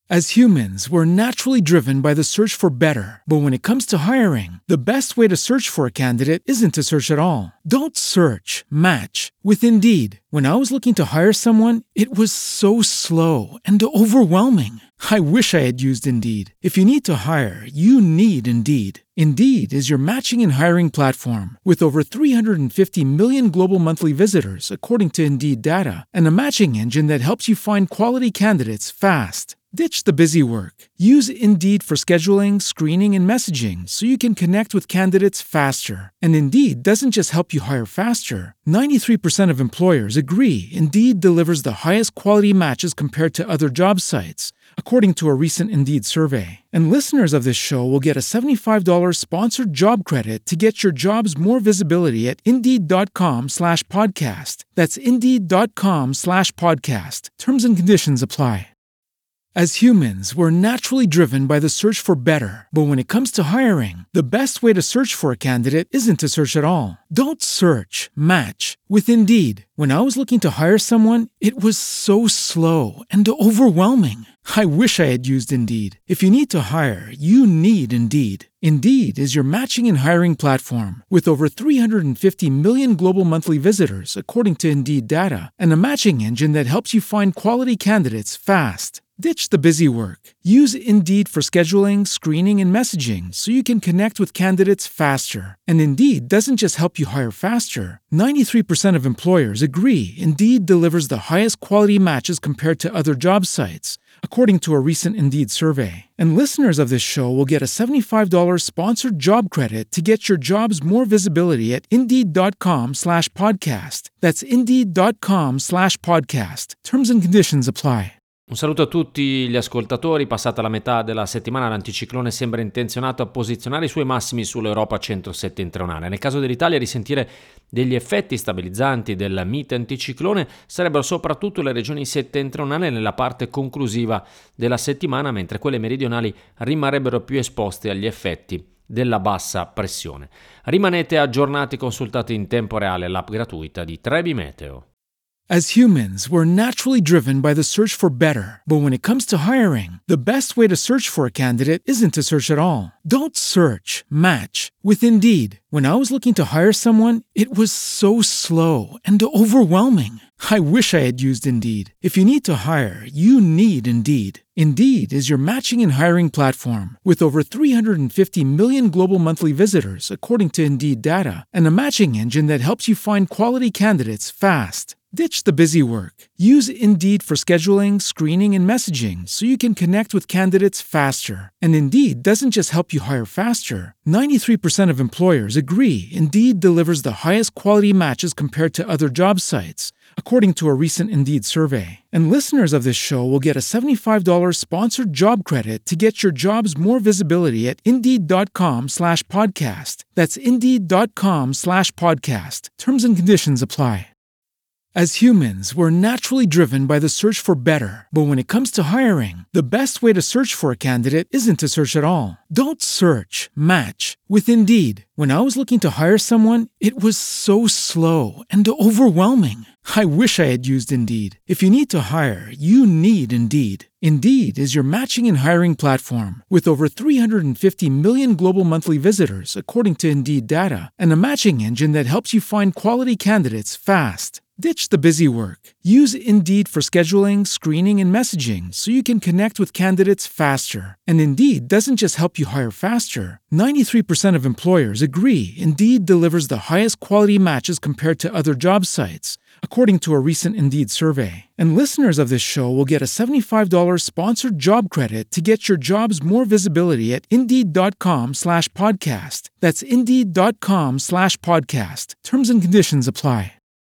As humans, we're naturally driven by the search for better. But when it comes to hiring, the best way to search for a candidate isn't to search at all. Don't search, match with Indeed. When I was looking to hire someone, it was so slow and overwhelming. I wish I had used Indeed. If you need to hire, you need Indeed. Indeed is your matching and hiring platform with over 350 million global monthly visitors, according to Indeed data, and a matching engine that helps you find quality candidates fast. Ditch the busy work. Use Indeed for scheduling, screening, and messaging so you can connect with candidates faster. And Indeed doesn't just help you hire faster. 93% of employers agree Indeed delivers the highest quality matches compared to other job sites, according to a recent Indeed survey. And listeners of this show will get a $75 sponsored job credit to get your jobs more visibility at Indeed.com/podcast. That's Indeed.com/podcast. Terms and conditions apply. As humans, we're naturally driven by the search for better. But when it comes to hiring, the best way to search for a candidate isn't to search at all. Don't search, match with Indeed. When I was looking to hire someone, it was so slow and overwhelming. I wish I had used Indeed. If you need to hire, you need Indeed. Indeed is your matching and hiring platform with over 350 million global monthly visitors, according to Indeed data, and a matching engine that helps you find quality candidates fast. Ditch the busy work. Use Indeed for scheduling, screening, and messaging so you can connect with candidates faster. And Indeed doesn't just help you hire faster. 93% of employers agree Indeed delivers the highest quality matches compared to other job sites, according to a recent Indeed survey. And listeners of this show will get a $75 sponsored job credit to get your jobs more visibility at Indeed.com/podcast. That's Indeed.com/podcast. Terms and conditions apply. Un saluto a tutti gli ascoltatori. Passata la metà della settimana, l'anticiclone sembra intenzionato a posizionare i suoi massimi sull'Europa centro-settentrionale. Nel caso dell'Italia, risentire degli effetti stabilizzanti del mite anticiclone sarebbero soprattutto le regioni settentrionali nella parte conclusiva della settimana, mentre quelle meridionali rimarrebbero più esposte agli effetti della bassa pressione. Rimanete aggiornati, consultate in tempo reale l'app gratuita di Trebi Meteo. As humans, we're naturally driven by the search for better. But when it comes to hiring, the best way to search for a candidate isn't to search at all. Don't search, match with Indeed. When I was looking to hire someone, it was so slow and overwhelming. I wish I had used Indeed. If you need to hire, you need Indeed. Indeed is your matching and hiring platform with over 350 million global monthly visitors, according to Indeed data, and a matching engine that helps you find quality candidates fast. Ditch the busy work. Use Indeed for scheduling, screening, and messaging so you can connect with candidates faster. And Indeed doesn't just help you hire faster. 93% of employers agree Indeed delivers the highest quality matches compared to other job sites, according to a recent Indeed survey. And listeners of this show will get a $75 sponsored job credit to get your jobs more visibility at Indeed.com/podcast. That's Indeed.com/podcast. Terms and conditions apply. As humans, we're naturally driven by the search for better. But when it comes to hiring, the best way to search for a candidate isn't to search at all. Don't search, match with Indeed. When I was looking to hire someone, it was so slow and overwhelming. I wish I had used Indeed. If you need to hire, you need Indeed. Indeed is your matching and hiring platform with over 350 million global monthly visitors, according to Indeed data, and a matching engine that helps you find quality candidates fast. Ditch the busy work. Use Indeed for scheduling, screening, and messaging so you can connect with candidates faster. And Indeed doesn't just help you hire faster. 93% of employers agree Indeed delivers the highest quality matches compared to other job sites, according to a recent Indeed survey. And listeners of this show will get a $75 sponsored job credit to get your jobs more visibility at Indeed.com/podcast. That's Indeed.com/podcast. Terms and conditions apply.